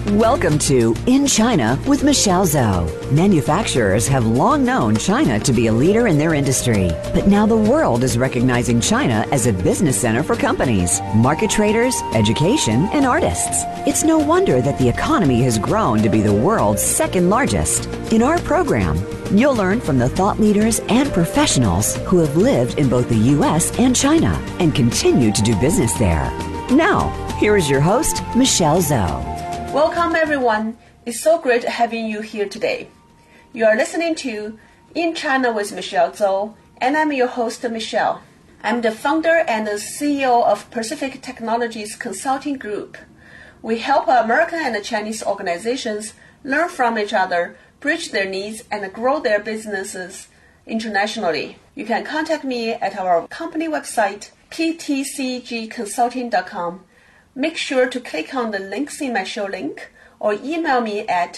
Welcome to In China with Michelle Zhou. Manufacturers have long known China to be a leader in their industry, but now the world is recognizing China as a business center for companies, market traders, education, and artists. It's no wonder that the economy has grown to be the world's second largest. In our program, you'll learn from the thought leaders and professionals who have lived in both the U.S. and China and continue to do business there. Now, here is your host, Michelle Zhou. Welcome everyone. It's so great having you here today. You are listening to In China with Michelle Zhou, and I'm your host, Michelle. I'm the founder and the CEO of Pacific Technologies Consulting Group. We help American and Chinese organizations learn from each other, bridge their needs, and grow their businesses internationally. You can contact me at our company website, ptcgconsulting.com. Make sure to click on the links in my show link or email me at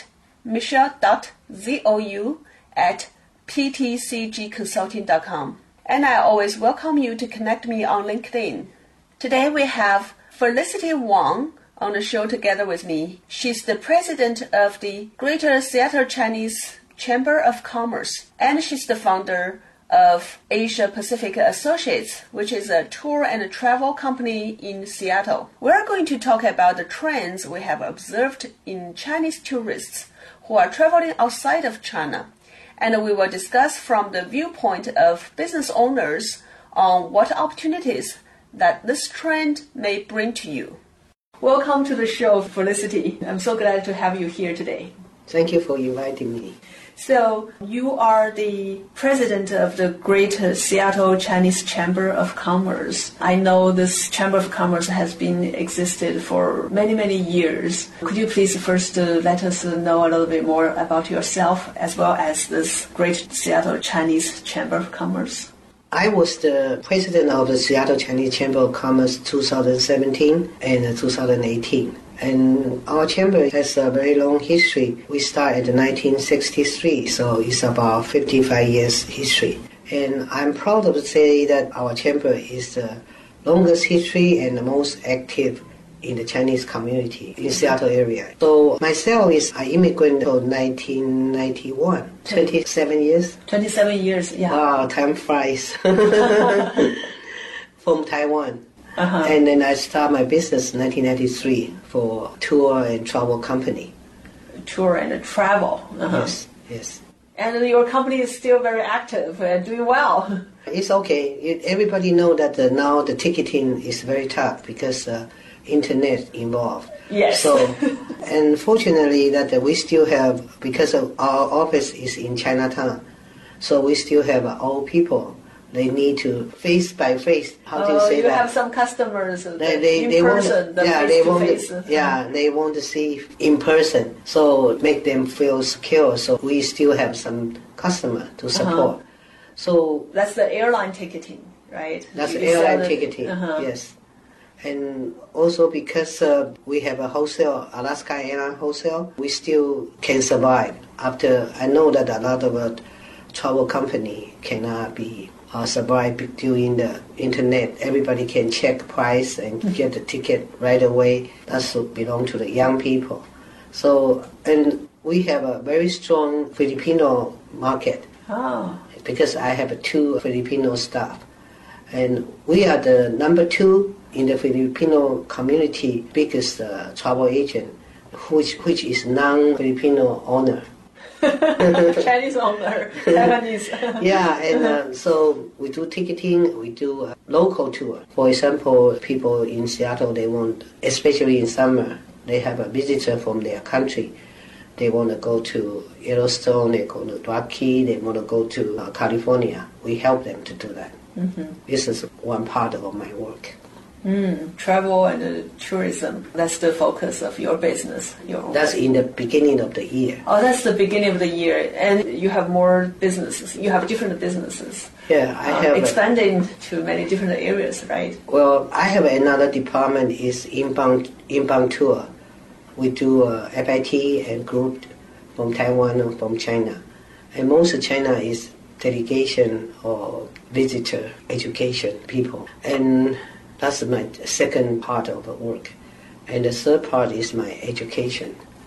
michelle.zhou@ptcgconsulting.com. And I always welcome you to connect me on LinkedIn. Today we have Felicity Wang on the show together with me. She's the president of the Greater Seattle Chinese Chamber of Commerce, and she's the founder of Asia Pacific Associates, which is a tour and travel company in Seattle. We're going to talk about the trends we have observed in Chinese tourists who are traveling outside of China, and we will discuss from the viewpoint of business owners on what opportunities that this trend may bring to you. Welcome to the show, Felicity. I'm so glad to have you here today. Thank you for inviting me. So you are the president of the Greater Seattle Chinese Chamber of Commerce. I know this Chamber of Commerce has been existed for many, many years. Could you please first let us know a little bit more about yourself as well as this Greater Seattle Chinese Chamber of Commerce? I was the president of the Seattle Chinese Chamber of Commerce 2017 and 2018. And our chamber has a very long history. We started in 1963, so it's about 55 years history. And I'm proud to say that our chamber is the longest history and the most active in the Chinese community in Seattle area. So myself I immigrated in 1991, 27 years. 27 years, yeah. Wow, time flies. From Taiwan. Uh-huh. And then I started my business in 1993 for tour and travel company. Tour and travel. Uh-huh. Yes. And your company is still very active and doing well. It's okay. Everybody knows that now the ticketing is very tough because internet involved. Yes. So, and fortunately that we still have, because of our office is in Chinatown, so we still have old people. They need to face by face. How do you say you that? have some customers in they person, they want to see in person, so make them feel secure. So we still have some customer to support. Uh-huh. So that's the airline ticketing, right? That's airline ticketing, uh-huh. Yes. And also because we have a wholesale, Alaska Airlines wholesale, we still can survive. After I know that a lot of travel company cannot be survive during the internet. Everybody can check price and get the ticket right away. That belong to the young people. So, and we have a very strong Filipino market. Oh. Because I have 2 Filipino staff. And we are the number 2 in the Filipino community biggest travel agent, which is non-Filipino owner. Chinese owner, Taiwanese. Yeah, and so we do ticketing, we do local tour. For example, people in Seattle, they want, especially in summer, they have a visitor from their country. They want to go to Yellowstone, they go to Rocky, they want to go to California. We help them to do that. Mm-hmm. This is one part of my work. Travel and tourism, that's the focus of your business. That's in the beginning of the year. Oh, that's the beginning of the year. And you have more businesses. You have different businesses. Yeah, I have expanding to many different areas, right? Well, I have another department is inbound tour. We do FIT and group from Taiwan or from China. And most of China is delegation or visitor education people. And that's my second part of the work. And the third part is my education.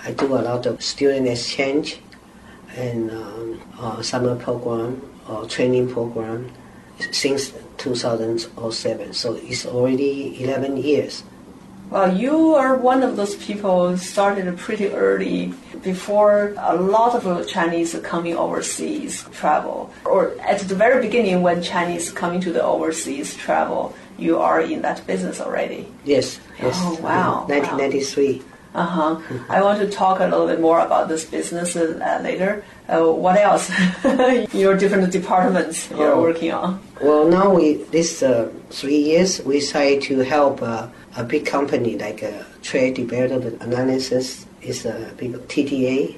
I do a lot of student exchange and summer program or training program since 2007. So it's already 11 years. Well, you are one of those people who started pretty early, before a lot of Chinese coming overseas travel. Or at the very beginning when Chinese coming to the overseas travel, you are in that business already. Yes. Oh, wow. 1993. Uh-huh. I want to talk a little bit more about this business later. What else? Your different departments you're working on. Well, now this 3 years, we try to help a big company like Trade Development Analysis, is a big TTA,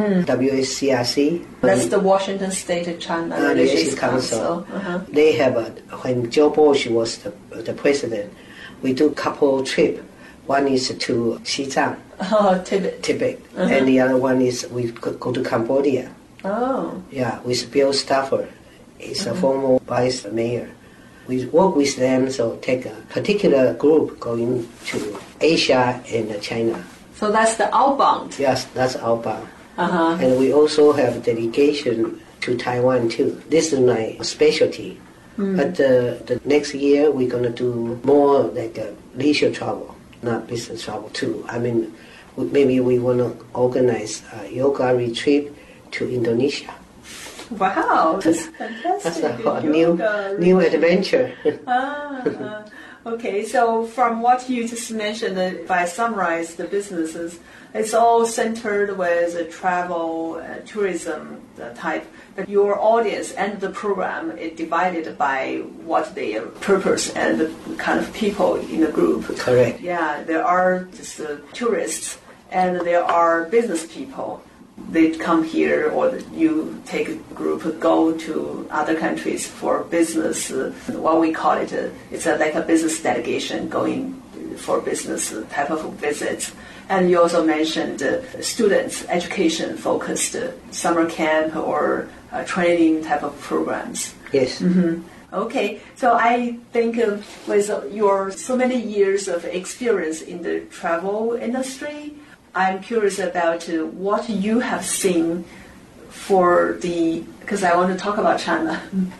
WSCRC. That's the Washington State China Relations Council. Uh-huh. They have, when Joe Bush was the president, we do couple trip. One is to Xizang, Tibet, and the other one is we go to Cambodia. Oh. Yeah, with Bill Stafford. He's a former vice mayor. We work with them, so take a particular group going to Asia and China. So that's the outbound? Yes, that's outbound. Uh-huh. And we also have delegation to Taiwan too. This is my specialty. But the next year we're going to do more like leisure travel, not business travel too. I mean, maybe we want to organize a yoga retreat to Indonesia. Wow, that's fantastic. That's a new adventure. Okay, so from what you just mentioned, if I summarize the businesses, it's all centered with travel, tourism type. But your audience and the program is divided by what their purpose and the kind of people in the group. Correct. Yeah, there are just tourists and there are business people. They come here, or you take a group, go to other countries for business. What we call it, it's like a business delegation going for business type of visits. And you also mentioned students, education-focused summer camp or training type of programs. Yes. Mm-hmm. Okay, so I think with your so many years of experience in the travel industry, I'm curious about what you have seen for because I want to talk about China,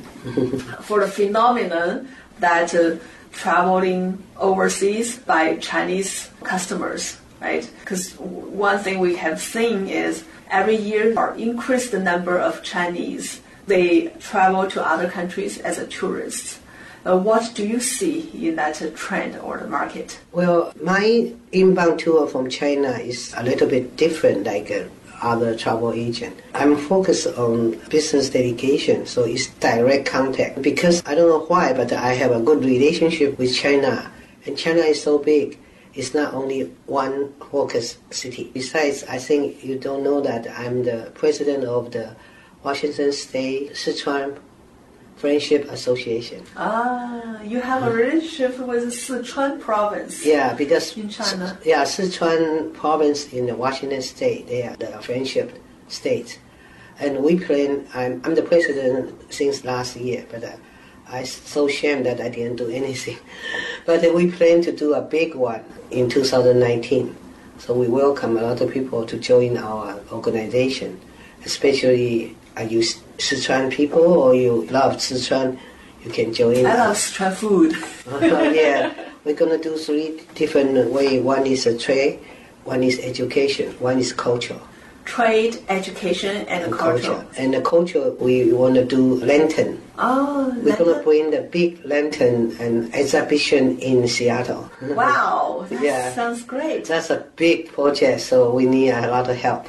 for the phenomenon that traveling overseas by Chinese customers, right? Because one thing we have seen is every year our increased number of Chinese, they travel to other countries as a tourists. What do you see in that trend or the market? Well, my inbound tour from China is a little bit different like other travel agent. I'm focused on business delegation, so it's direct contact. Because I don't know why, but I have a good relationship with China. And China is so big, it's not only one focus city. Besides, I think you don't know that I'm the president of the Washington State Sichuan Friendship Association. You have a relationship with Sichuan province. Yeah, because in China. Sichuan province in the Washington State, they are the friendship state, and we plan. I'm the president since last year, but I'm so ashamed that I didn't do anything. But we plan to do a big one in 2019. So we welcome a lot of people to join our organization, especially. Are you Sichuan people or you love Sichuan? You can join. I love Sichuan food. Yeah, we're going to do 3 different ways. One is a trade, one is education, one is culture. Trade, education, and culture. And the culture, we want to do lantern. Oh, we're going to bring the big lantern and exhibition in Seattle. Wow, that sounds great. That's a big project, so we need a lot of help.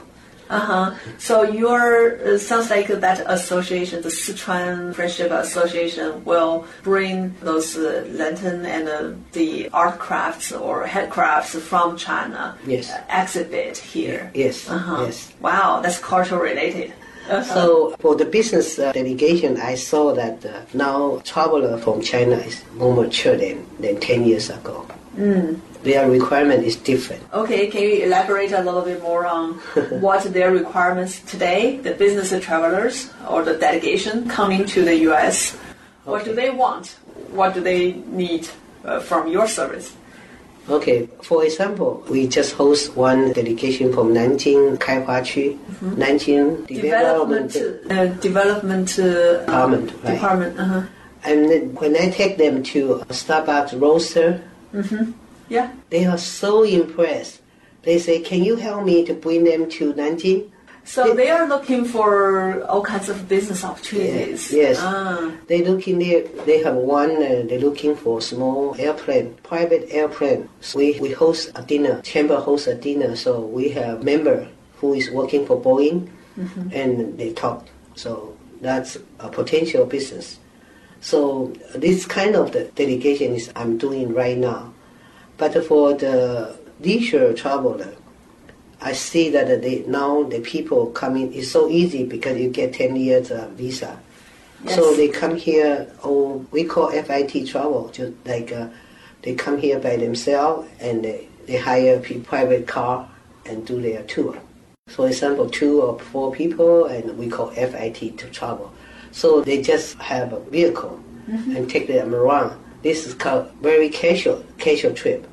So your sounds like that association, the Sichuan Friendship Association, will bring those lantern and the art crafts or handcrafts from China. Yes. Exhibit here. Yes. Yes. Wow, that's cultural related. So for the business delegation, I saw that now traveler from China is more mature than 10 years ago. Their requirement is different. Okay, can you elaborate a little bit more on what their requirements today, the business travelers or the delegation coming to the U.S., what do they want? What do they need from your service? Okay, for example, we just host one delegation from Nanjing, Kaihua-区, Nanjing Development Department. Right? Department. And then when I take them to Starbucks roaster, Yeah. they are so impressed. They say, "Can you help me to bring them to Nanjing?" So they are looking for all kinds of business opportunities. Yes. They looking there. They have one. They're looking for small airplane, private airplane. So we host a dinner. Chamber hosts a dinner. So we have member who is working for Boeing, and they talk. So that's a potential business. So this kind of the delegation is I'm doing right now. But for the leisure traveler, I see that now the people coming is so easy because you get 10 years visa. Yes. So they come here, we call FIT travel, just like they come here by themselves and they hire a private car and do their tour. For example, 2 or 4 people, and we call FIT to travel. So they just have a vehicle and take them around. This is called very casual trip.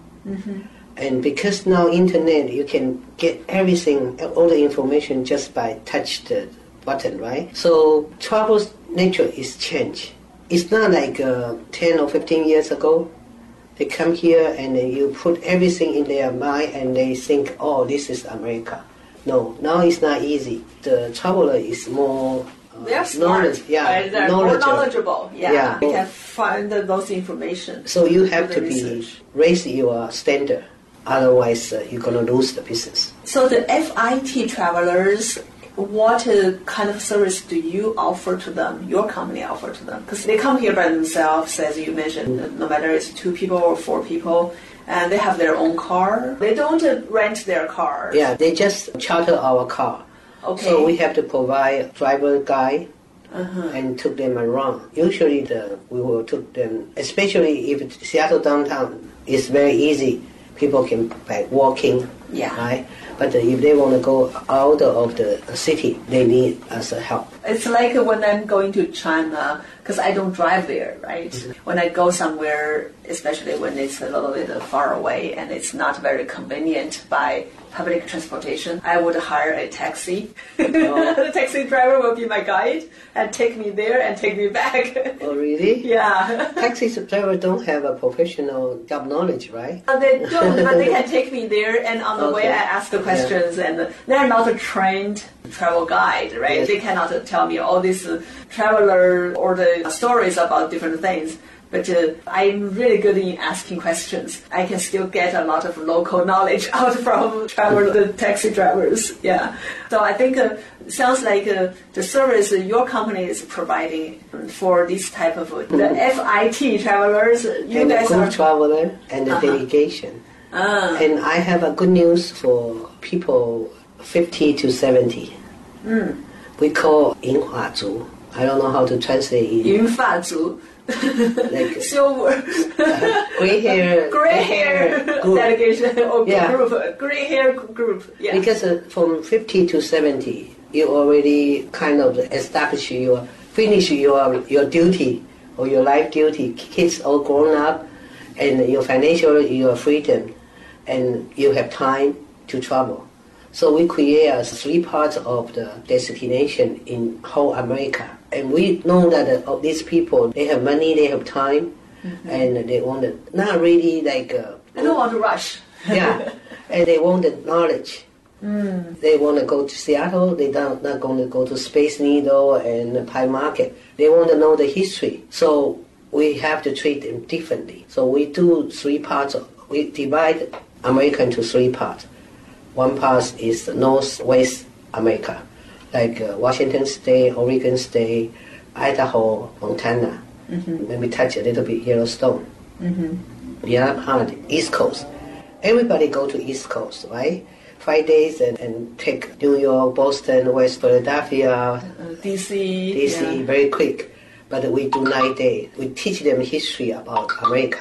And because now internet, you can get everything, all the information just by touch the button, right? So travel's nature is changed. It's not like 10 or 15 years ago. They come here and then you put everything in their mind and they think, oh, this is America. No, now it's not easy. The traveler is more They're smart. They're more knowledgeable. Yeah. They can find those information. So you have to research. raise your standard. Otherwise, you're going to lose the business. So the FIT travelers, what kind of service do you offer to them, your company offer to them? Because they come here by themselves, as you mentioned, no matter it's 2 people or 4 people, and they have their own car. They don't rent their car. Yeah, they just charter our car. Okay. So we have to provide driver guide and took them around. Usually we will took them, especially if Seattle downtown is very easy. People can by walking, right? But if they want to go out of the city, they need us help. It's like when I'm going to China, because I don't drive there, right? When I go somewhere, especially when it's a little bit far away and it's not very convenient by public transportation, I would hire a taxi. The taxi driver will be my guide and take me there and take me back. Oh, really? Yeah. Taxi driver don't have a professional job knowledge, right? They don't, but they can take me there, and on the way I ask the questions, and they're not a trained travel guide, right? Yes. They cannot tell me all these traveler or the stories about different things. But I'm really good in asking questions. I can still get a lot of local knowledge out from the taxi drivers. Yeah. So I think sounds like the service your company is providing for this type of the FIT travelers. You and guys the group are traveler and the delegation. And I have a good news for people 50 to 70. We call 银发族. I don't know how to translate it. 银发族. Like silver, gray hair group. Delegation or group, gray hair group. Yeah. Because from 50 to 70, you already kind of finish your duty or your life duty. Kids all grown up, and your freedom, and you have time to travel. So we create 3 parts of the destination in whole America. And we know that these people, they have money, they have time, and they want to, not really like... they don't want to rush. Yeah, and they want the knowledge. They want to go to Seattle, they're not going to go to Space Needle and Pie Market. They want to know the history. So we have to treat them differently. So we do 3 parts. We divide America into 3 parts. 1 part is Northwest America, like Washington State, Oregon State, Idaho, Montana. Maybe touch a little bit Yellowstone. The other part, East Coast. Everybody go to East Coast, right? 5 days and take New York, Boston, West Philadelphia, DC, very quick. But we do 9 days. We teach them history about America.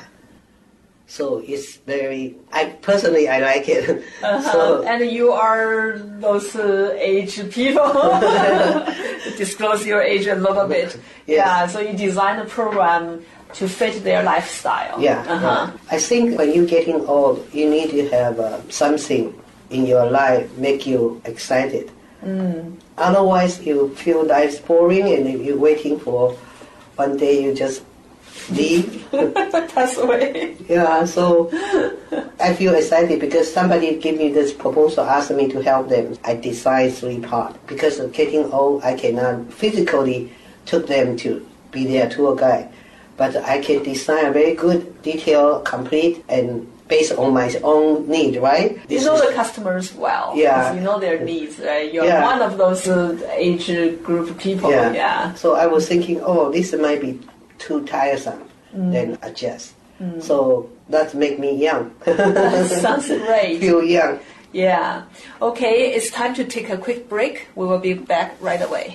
So it's very, I like it. So, and you are those age people. Disclose your age a little bit. Yes. Yeah, so you design a program to fit their lifestyle. Yeah. I think when you're getting old, you need to have something in your life make you excited. Otherwise, you feel life's boring, and if you're waiting for one day, you just leave. Pass away. Yeah, so I feel excited because somebody gave me this proposal, asked me to help them. I decide 3 parts. Because of getting old, I cannot physically took them to be their tour guide. But I can design a very good, detailed, complete, and based on my own need, right? You know the customers well. Yeah. You know their needs, right? You're one of those age group people. Yeah. So I was thinking, this might be too tiresome, then adjust. So that make me young. That sounds great. Feel young. Yeah. Okay, it's time to take a quick break. We will be back right away.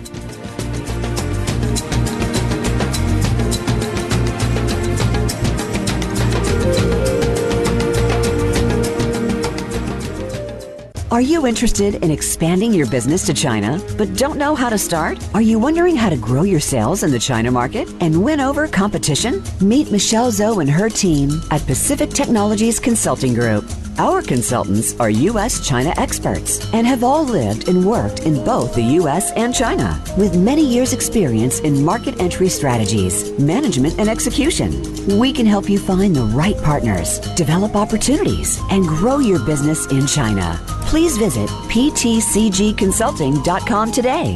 Are you interested in expanding your business to China, but don't know how to start? Are you wondering how to grow your sales in the China market and win over competition? Meet Michelle Zhou and her team at Pacific Technologies Consulting Group. Our consultants are U.S.-China experts and have all lived and worked in both the U.S. and China, with many years' experience in market entry strategies, management, and execution. We can help you find the right partners, develop opportunities, and grow your business in China. Please visit ptcgconsulting.com today.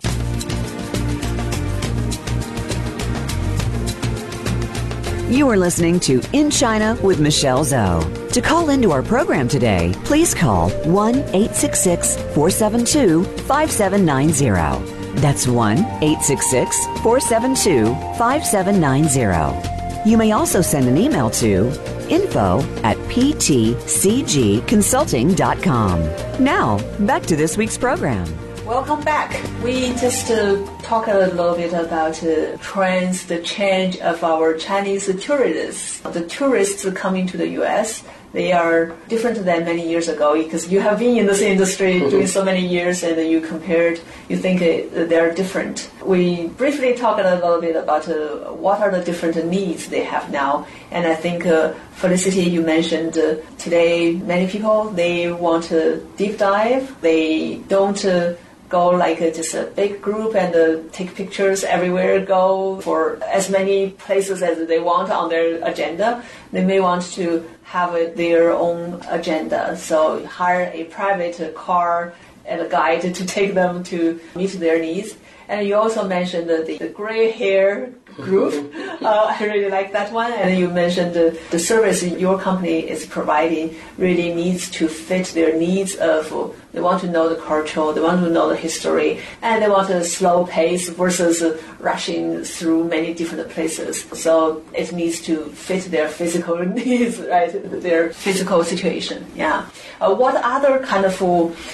You are listening to In China with Michelle Zhou. To call into our program today, please call 1-866-472-5790. That's 1-866-472-5790. You may also send an email to info@ptcgconsulting.com. Now, back to this week's program. Welcome back. We just talk a little bit about trends, the change of our Chinese tourists. The tourists coming to the U.S., they are different than many years ago because you have been in this industry doing so many years and you compared, you think they're different. We briefly talked a little bit about what are the different needs they have now. And I think, Felicity, you mentioned today many people, they want to deep dive. They don't go like just a big group and take pictures everywhere, go for as many places as they want on their agenda. They may want to have their own agenda. So hire a private car and a guide to take them to meet their needs. And you also mentioned the gray hair group. I really like that one. And you mentioned the service your company is providing really needs to fit their needs of, they want to know the culture, they want to know the history, and they want a slow pace versus rushing through many different places. So it needs to fit their physical needs, right? Their physical situation. Yeah. What other kind of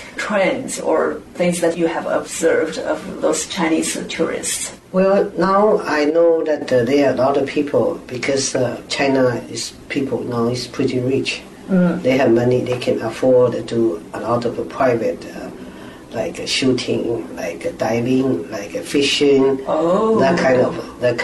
trends or things that you have observed of those Chinese tourists? Well, now I know that there are a lot of people because China is people now is pretty rich. They have money, they can afford to do a lot of private like shooting, like diving, like fishing, that kind of.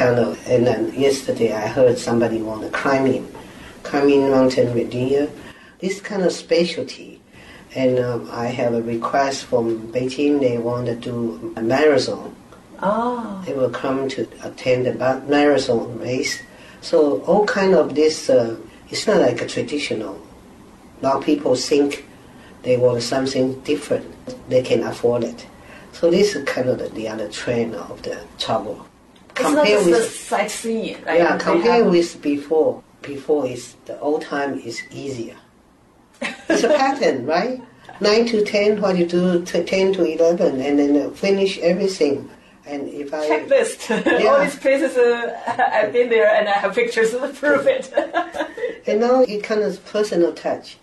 And then yesterday I heard somebody want to climbing mountain Virginia, this kind of specialty. And I have a request from Beijing. They want to do a marathon. They will come to attend the marathon race. So all kind of this, it's not like a traditional. Now people think they want something different. They can afford it. So this is kind of the other trend of the travel. Compare with the sightseeing, right? Yeah, compare with before. Before is the old time is easier. It's a pattern, right? 9 to 10, what you do, 10 to 11, and then finish everything. And if I checklist, all these places I've been there, and I have pictures to prove it. And now it kind of personal touch.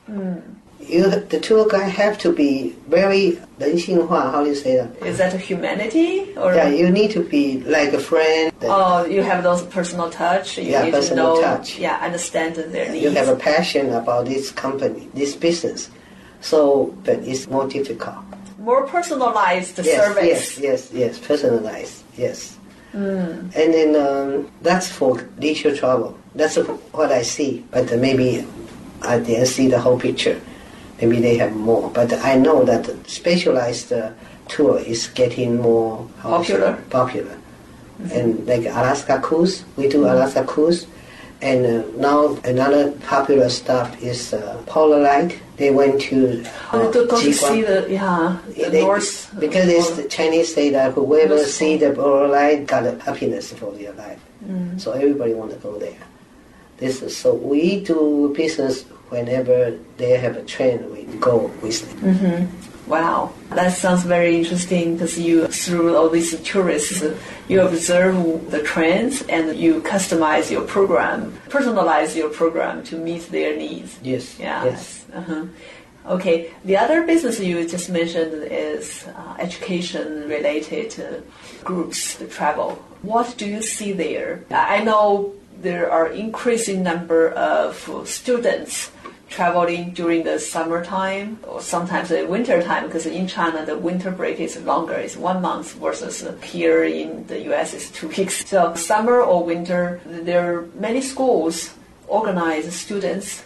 The tour guide have to be very 人性化. How do you say that? Is that humanity? Or? Yeah, you need to be like a friend. You have those personal touch. You need personal to know, touch. Yeah, understand their needs. You have a passion about this company, this business. So, but it's more difficult. More personalized service. Yes, personalized, yes. And then that's for leisure travel. That's what I see. But maybe I didn't see the whole picture. Maybe they have more. But I know that specialized tour is getting more popular. And like Alaska Cruise, we do Alaska Cruise. And now another popular stop is Polar Light. They went to go to see the North. Because it's the Chinese say that whoever see the Polar Light got a happiness for their life. So everybody want to go there. So we do business whenever they have a trend. We go with them. Wow, that sounds very interesting because you, through all these tourists, you observe the trends and you customize your program, personalize your program to meet their needs. Yes. Yeah. Yes. Okay. The other business you just mentioned is education-related groups, the travel. What do you see there? I know there are increasing number of students traveling during the summertime or sometimes the winter time, because in China the winter break is longer, it's 1 month versus here in the US it's 2 weeks. So summer or winter, there are many schools organize students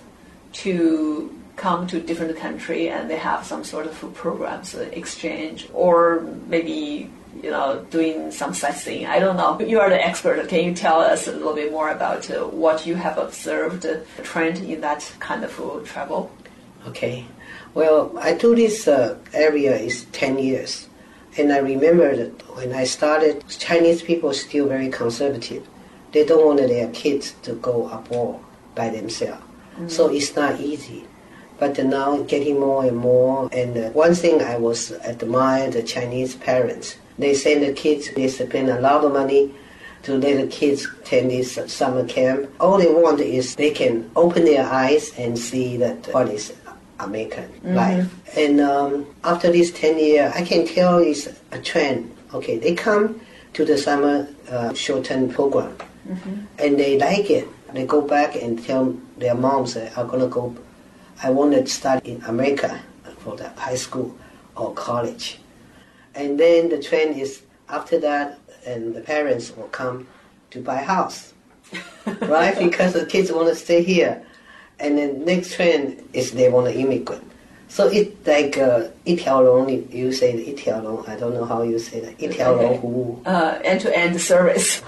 to come to different country and they have some sort of programs, exchange, or maybe doing some sightseeing. I don't know. You are the expert. Can you tell us a little bit more about what you have observed, the trend in that kind of travel? Okay. Well, I do this area is 10 years. And I remember that when I started, Chinese people are still very conservative. They don't want their kids to go abroad by themselves. So it's not easy. But now getting more and more. And one thing I was admire the Chinese parents. They send the kids, they spend a lot of money to let the kids attend this summer camp. All they want is they can open their eyes and see that what is American life. And after this 10 years, I can tell it's a trend. Okay, they come to the summer short-term program and they like it. They go back and tell their moms that I'm going to go, I want to study in America for the high school or college. And then the trend is after that, and the parents will come to buy house, right? Because the kids want to stay here. And then next trend is they want to immigrate. So it's like 一条龙, you say 一条龙, I don't know how you say that. 一条龙服务. End-to-end service.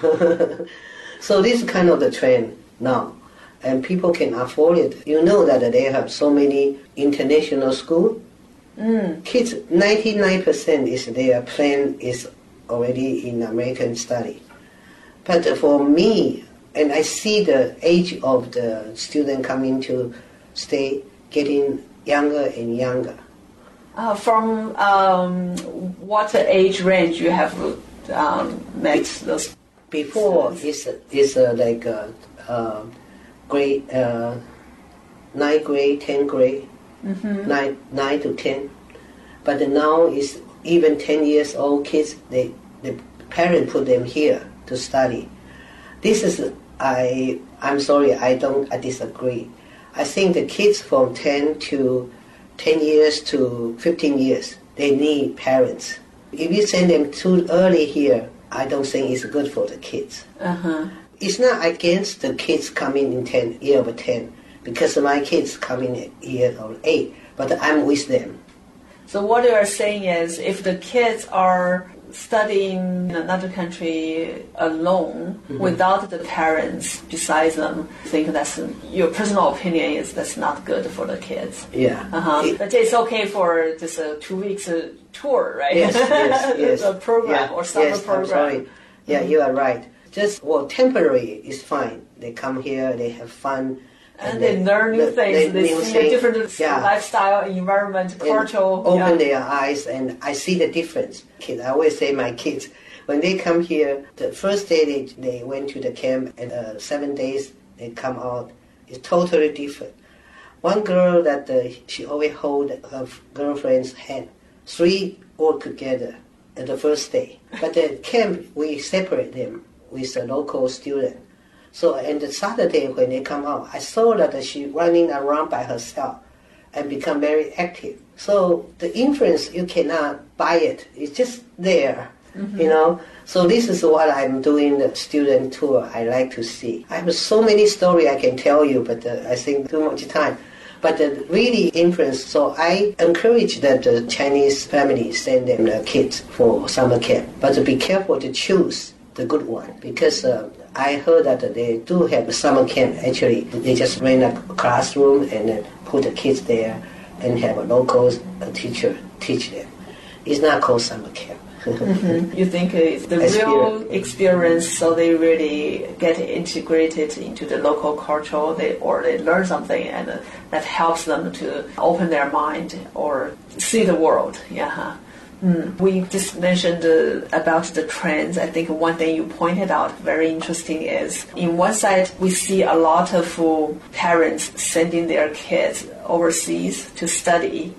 So this is kind of the trend now. And people can afford it. You know that they have so many international schools. Kids, 99% is their plan is already in American study. But for me, and I see the age of the student coming to stay getting younger and younger. From what age range you have met those? Before is like grade 9th grade, 10th grade. 9 to 10, but now is even 10 years old kids. The parent put them here to study. This is I'm sorry, I disagree. I think the kids from 10 years to 15 years, they need parents. If you send them too early here, I don't think it's good for the kids. It's not against the kids coming in year of 10. Because my kids come in at year or 8, but I'm with them. So what you are saying is, if the kids are studying in another country alone, without the parents besides them, I think that's your personal opinion is that's not good for the kids. Yeah. But it's okay for just a 2 weeks tour, right? Yes. A program or summer program. I'm sorry. Yeah, you are right. Just temporary is fine. They come here, they have fun. And they learn new things. They see a different lifestyle, environment, culture. Open their eyes, and I see the difference. Kids, I always say my kids, when they come here, the first day they went to the camp, and 7 days they come out, it's totally different. One girl that she always hold her girlfriend's hand. 3 all together at the first day. But the camp, we separate them with a local student. So on the Saturday when they come out, I saw that she running around by herself and become very active. So the influence, you cannot buy it. It's just there. you know. So this is what I'm doing, the student tour I like to see. I have so many stories I can tell you, but I think too much time. But really influence, so I encourage that the Chinese families send them their kids for summer camp. But be careful to choose the good one, because I heard that they do have a summer camp. Actually, they just rent a classroom and then put the kids there and have a local teacher teach them. It's not called summer camp. You think it's the real experience, so they really get integrated into the local culture, or they learn something, and that helps them to open their mind or see the world. Yeah. We just mentioned about the trends. I think one thing you pointed out very interesting is, in one side, we see a lot of parents sending their kids overseas to study.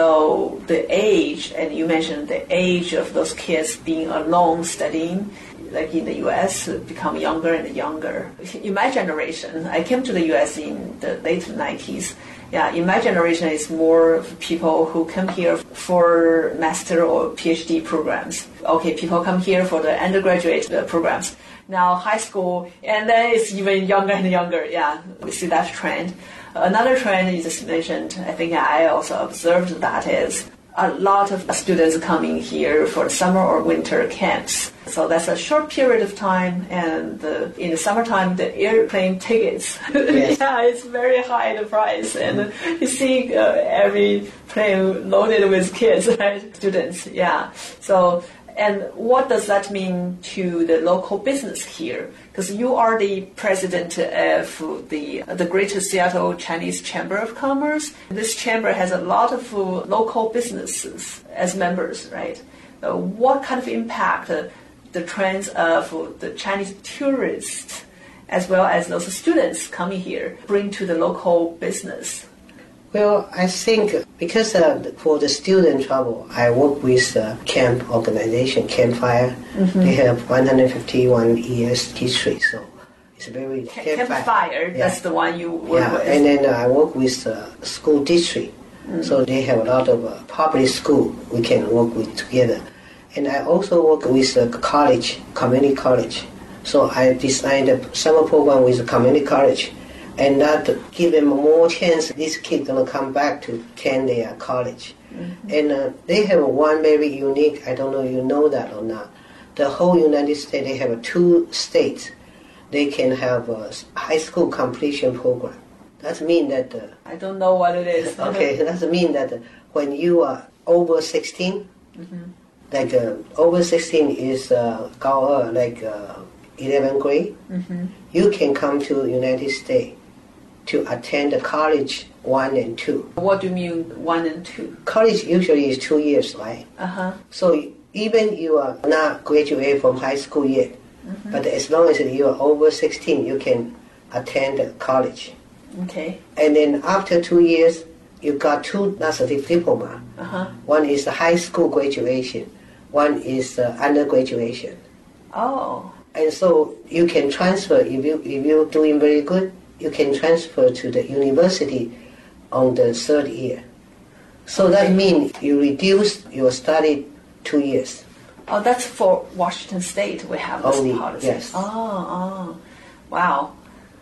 So the age, and you mentioned the age of those kids being alone studying, like in the U.S., become younger and younger. In my generation, I came to the U.S. in the late 90s. Yeah, in my generation, it's more people who come here for master or PhD programs. Okay, people come here for the undergraduate programs. Now high school, and then it's even younger and younger. Yeah, we see that trend. Another trend you just mentioned, I think I also observed that, is a lot of students coming here for summer or winter camps. So that's a short period of time, and in the summertime, the airplane tickets, yes. Yeah, it's very high, the price, and you see every plane loaded with kids, right? Students, yeah. So, and what does that mean to the local business here? Because you are the president of the Greater Seattle Chinese Chamber of Commerce. This chamber has a lot of local businesses as members, right? What kind of impact the trends of the Chinese tourists, as well as those students coming here, bring to the local business? Well, I think because for the student travel, I work with the camp organization, Campfire. They have 151 years history, so it's very... Campfire, that's the one you work with. And then I work with the school district. So they have a lot of public school we can work with together. And I also work with the college, community college. So I designed a summer program with the community college, and that give them more chance. These kids gonna come back to attend their college. And they have one very unique, I don't know if you know that or not. The whole United States, they have 2 states. They can have a high school completion program. That means that... I don't know what it is. Okay, that means that when you are over 16, like over 16 is like 11th grade, you can come to United States to attend the college 1 and 2. What do you mean 1 and 2? College usually is 2 years, right? So even you are not graduated from high school yet, but as long as you are over 16, you can attend college. Okay. And then after 2 years, you got 2 certificate diploma. One is the high school graduation, one is undergraduation. Oh. And so you can transfer, if you're doing very good, you can transfer to the university on the 3rd year. So that means you reduce your study 2 years. Oh, that's for Washington State. We have this Only, policy. yes. Oh, wow.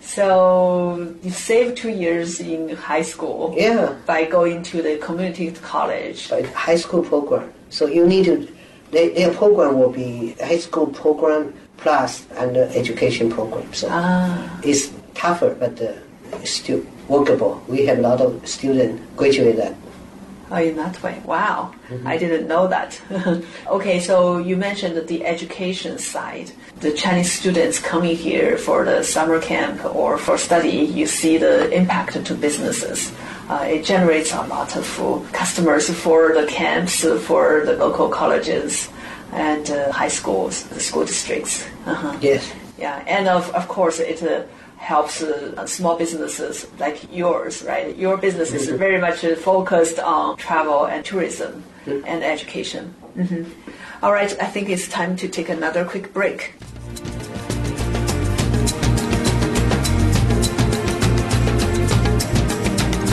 So you save 2 years in high school by going to the community college. But high school program. So you need to, their program will be high school program plus under education program. So it's tougher, but still workable. We have a lot of students graduate that. Oh, in that way. Wow. I didn't know that. Okay, so you mentioned the education side. The Chinese students coming here for the summer camp or for study, you see the impact to businesses. It generates a lot of customers for the camps, for the local colleges and high schools, the school districts. Yes. Yeah, and of course it helps small businesses like yours, right? Your business is very much focused on travel and tourism and education. All right, I think it's time to take another quick break.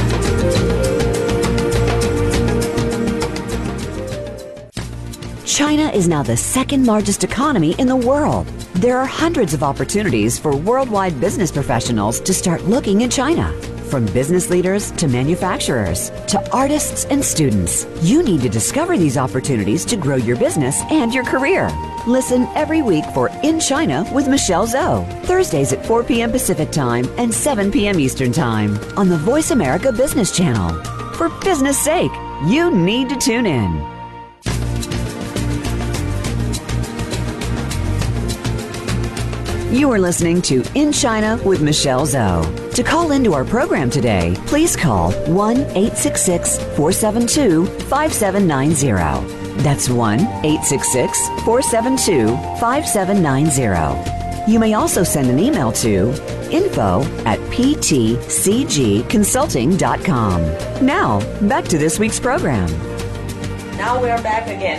China China is now the second largest economy in the world. There are hundreds of opportunities for worldwide business professionals to start looking in China. From business leaders to manufacturers to artists and students, you need to discover these opportunities to grow your business and your career. Listen every week for In China with Michelle Zhou, Thursdays at 4 p.m. Pacific Time and 7 p.m. Eastern Time on the Voice America Business Channel. For business sake, you need to tune in. You are listening to In China with Michelle Zhou. To call into our program today, please call 1-866-472-5790. That's 1-866-472-5790. You may also send an email to info@ptcgconsulting.com. Now, back to this week's program. Now we are back again.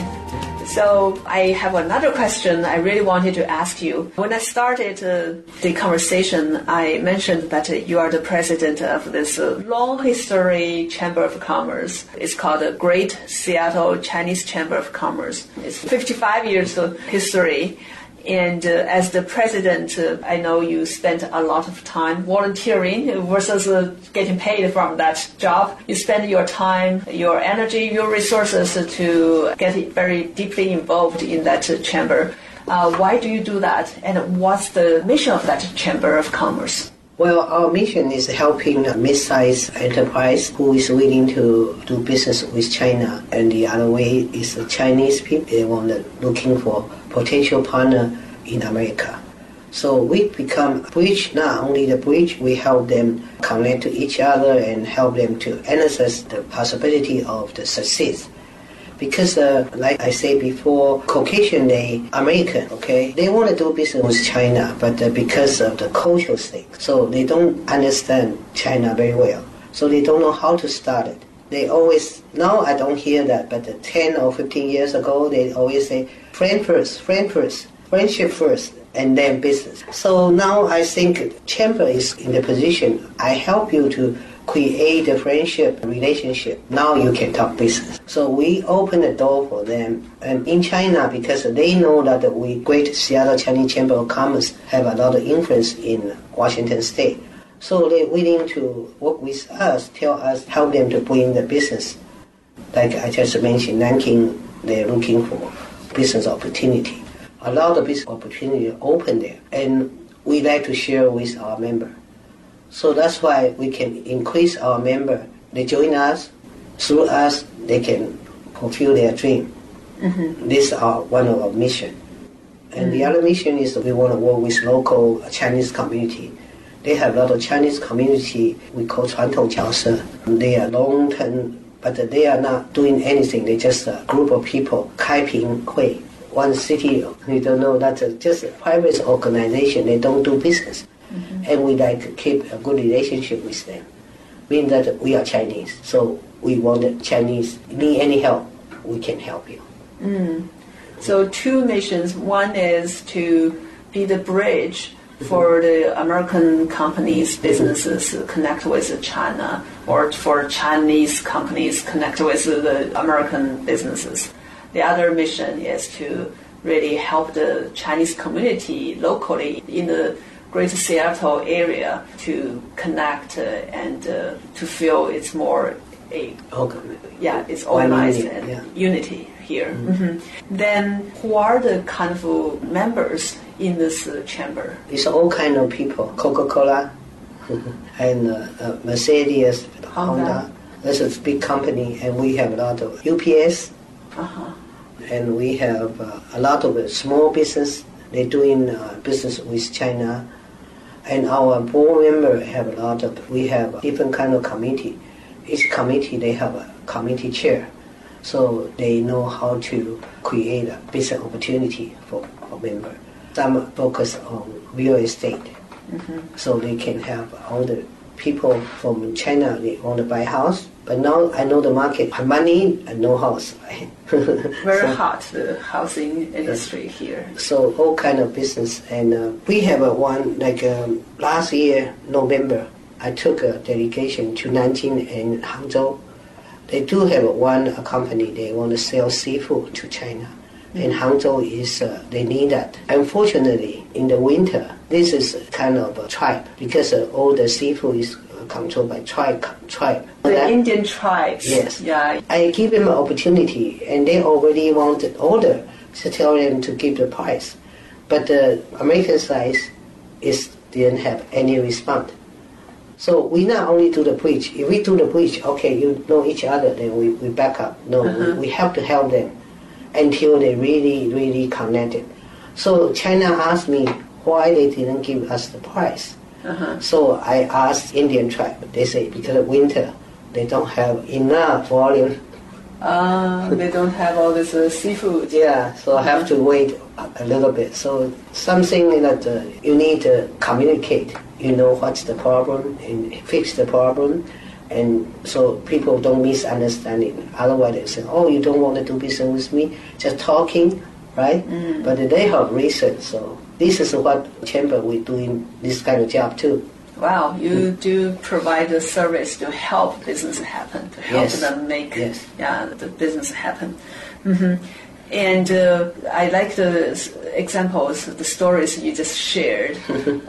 So I have another question I really wanted to ask you. When I started the conversation, I mentioned that you are the president of this long history Chamber of Commerce. It's called the Great Seattle Chinese Chamber of Commerce. It's 55 years of history. And as the president, I know you spent a lot of time volunteering versus getting paid from that job. You spend your time, your energy, your resources to get very deeply involved in that chamber. Why do you do that? And what's the mission of that Chamber of Commerce? Well, our mission is helping a mid-sized enterprise who is willing to do business with China. And the other way is the Chinese people, they want looking for potential partner in America. So we become a bridge, not only the bridge, we help them connect to each other and help them to analyze the possibility of the success. Because, like I said before, Caucasian, they American, okay? They want to do business with China, but because of the cultural thing, so they don't understand China very well. So they don't know how to start it. They always, now I don't hear that, but 10 or 15 years ago, they always say, friend first, friendship first, and then business. So now I think Chamber is in the position, I help you to create a friendship relationship. Now you can talk business. So we open the door for them. And in China, because they know that we Great Seattle Chinese Chamber of Commerce have a lot of influence in Washington State. So they're willing to work with us, tell us, help them to bring the business. Like I just mentioned, Nanking, they're looking for business opportunity. A lot of business opportunity open there. And we like to share with our member. So that's why we can increase our member. They join us, through us, they can fulfill their dream. Mm-hmm. This is one of our mission. And the other mission is that we want to work with local Chinese community. They have a lot of Chinese community we call 传统角色. They are long-term, but they are not doing anything. They just a group of people, 开平会, one city. You don't know, that's just a private organization. They don't do business. Mm-hmm. And we like to keep a good relationship with them. Meaning that we are Chinese, so we want the Chinese, need any help, we can help you. So two missions. One is to be the bridge for the American companies, businesses connect with China, or for Chinese companies connect with the American businesses. The other mission is to really help the Chinese community locally in the Greater Seattle area to connect and to feel it's more it's organized and unity here. Mm-hmm. Then who are the kind of members in this chamber? It's all kind of people. Coca-Cola and Mercedes, Honda. That's a big company, and we have a lot of UPS. And we have a lot of small business. They're doing business with China. And our board member have a lot of, we have different kind of committee. Each committee, they have a committee chair. So they know how to create a business opportunity for member. Some focus on real estate. Mm-hmm. So they can have all the people from China, they want to buy a house. But now I know the market, money and no house. Very hot, the housing industry here. So all kind of business. And we have one, like last year, November, I took a delegation to Nanjing and Hangzhou. They do have a company, they want to sell seafood to China. And Hangzhou is, they need that. Unfortunately, in the winter, this is kind of a tribe because all the seafood is controlled by tribe. The Indian tribes. Yes. Yeah. I give them an opportunity, and they already want an order to tell them to give the price. But the American side didn't have any response. So we not only do the bridge. If we do the bridge, okay, you know each other, then we back up. No, we have to help them until they really, really connected. So China asked me why they didn't give us the price. So I asked Indian tribe. They say because of winter, they don't have enough volume. They don't have all this seafood. Yeah, so I have to wait a little bit. So something that you need to communicate. You know what's the problem and fix the problem. And so people don't misunderstanding. Otherwise they say, oh, you don't want to do business with me, just talking, right? But they have reason. So this is what Chamber we're doing this kind of job too. Wow, you do provide a service to help business happen, to help them make the business happen. And I like the examples, the stories you just shared.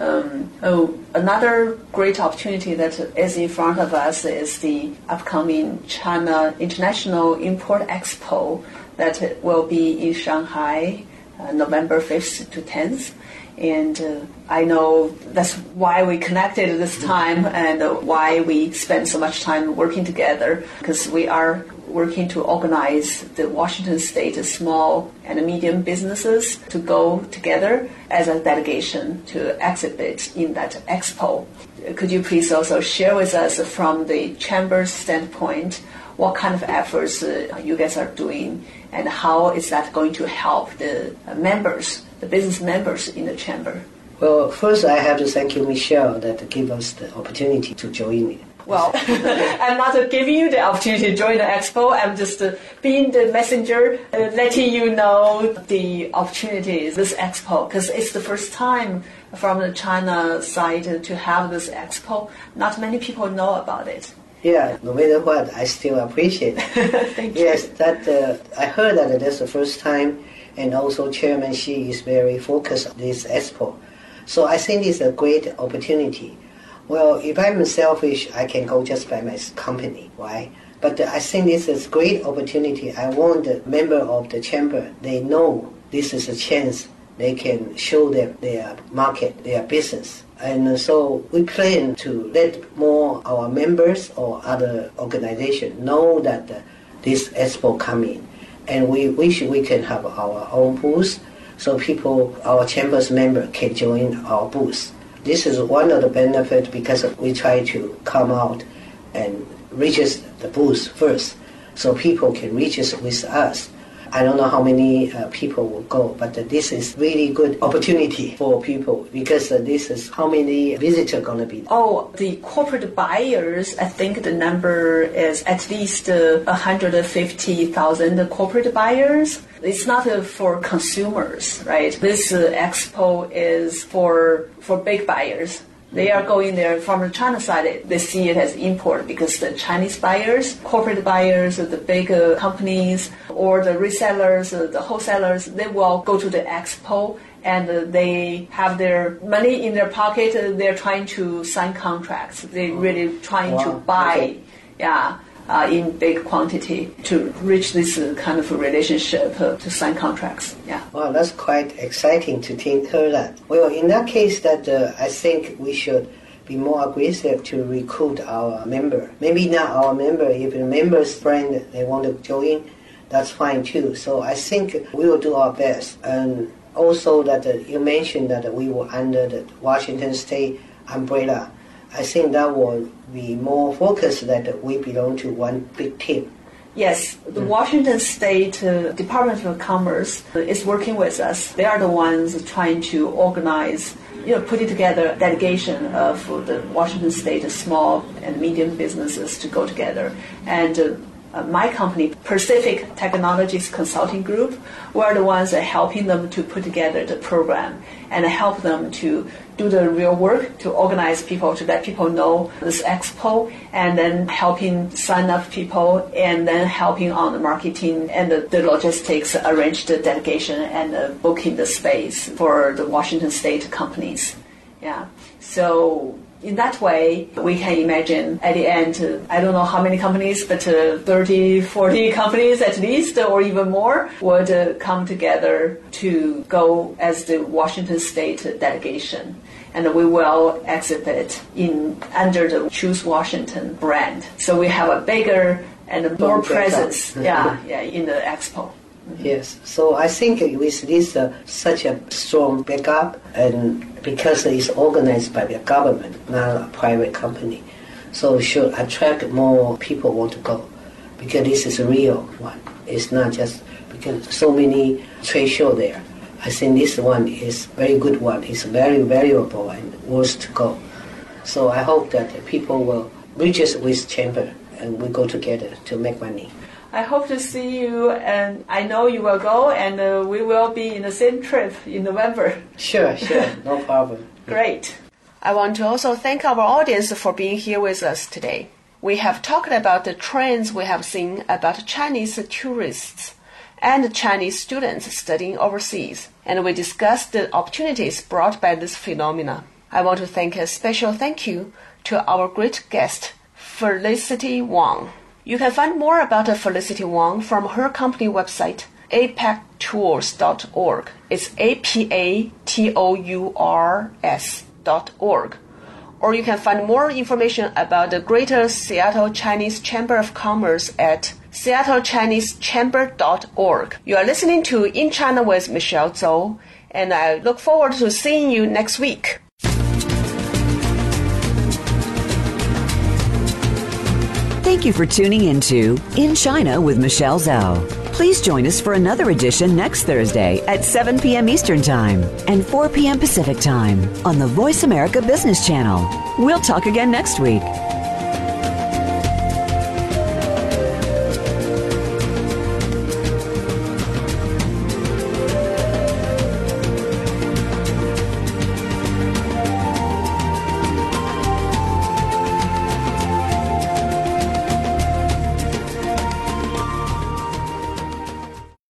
Another great opportunity that is in front of us is the upcoming China International Import Expo that will be in Shanghai, November 5th to 10th. And I know that's why we connected this time and why we spend so much time working together, because we are working to organize the Washington State small and medium businesses to go together as a delegation to exhibit in that expo. Could you please also share with us from the Chamber's standpoint what kind of efforts you guys are doing and how is that going to help the members, the business members in the Chamber? Well, first I have to thank you, Michelle, that gave us the opportunity to join it. Well, I'm not giving you the opportunity to join the expo. I'm just being the messenger, letting you know the opportunities, this expo, because it's the first time from the China side to have this expo. Not many people know about it. Yeah, no matter what, I still appreciate it. Thank you. Yes, that I heard that that's the first time, and also Chairman Xi is very focused on this expo. So I think it's a great opportunity. Well, if I'm selfish, I can go just by my company, right? But I think this is a great opportunity. I want the member of the chamber, they know this is a chance they can show them their market, their business. And so we plan to let more our members or other organizations know that this expo coming. And we wish we can have our own booth so people, our chamber's member can join our booth. This is one of the benefits because we try to come out and register the booth first so people can register with us. I don't know how many people will go, but this is really good opportunity for people because this is how many visitors going to be. Oh, the corporate buyers, I think the number is at least 150,000 corporate buyers. It's not for consumers, right? This expo is for big buyers. They are going there from the China side. They see it as import because the Chinese buyers, corporate buyers, the big companies, or the resellers, the wholesalers, they will go to the expo and they have their money in their pocket. They're trying to sign contracts. They're really trying to buy, in big quantity to reach this kind of relationship to sign contracts. Yeah. Wow, that's quite exciting to hear that. Well, in that case, that I think we should be more aggressive to recruit our member. Maybe not our member. If a member's friend they want to join, that's fine too. So I think we will do our best. And also that you mentioned that we were under the Washington State umbrella. I think that will be more focused that we belong to one big team. Yes, the Washington State Department of Commerce is working with us. They are the ones trying to organize, putting together a delegation of the Washington State small and medium businesses to go together. And my company, Pacific Technologies Consulting Group, we're the ones helping them to put together the program and help them to do the real work to organize people, to let people know this expo, and then helping sign up people, and then helping on the marketing and the logistics, arrange the delegation and booking the space for the Washington State companies. Yeah. So in that way, we can imagine at the end, I don't know how many companies, but 30, 40 companies at least, or even more, would come together to go as the Washington State delegation. And we will exhibit under the Choose Washington brand. So we have a bigger and more presence in the expo. Yes, so I think with this such a strong backup, and because it's organized by the government, not a private company, so it should attract more people want to go, because this is a real one. It's not just because so many trade show there. I think this one is very good one. It's very valuable and worth to go. So I hope that people will register with Chamber and we go together to make money. I hope to see you, and I know you will go, and we will be in the same trip in November. Sure, no problem. Great. I want to also thank our audience for being here with us today. We have talked about the trends we have seen about Chinese tourists and Chinese students studying overseas, and we discussed the opportunities brought by this phenomena. I want to thank a special thank you to our great guest, Felicity Wang. You can find more about Felicity Wang from her company website, apactours.org. It's apatours.org. Or you can find more information about the Greater Seattle Chinese Chamber of Commerce at seattlechinesechamber.org. You are listening to In China with Michelle Zhou, and I look forward to seeing you next week. Thank you for tuning into In China with Michelle Zhou. Please join us for another edition next Thursday at 7 p.m. Eastern Time and 4 p.m. Pacific Time on the Voice America Business Channel. We'll talk again next week.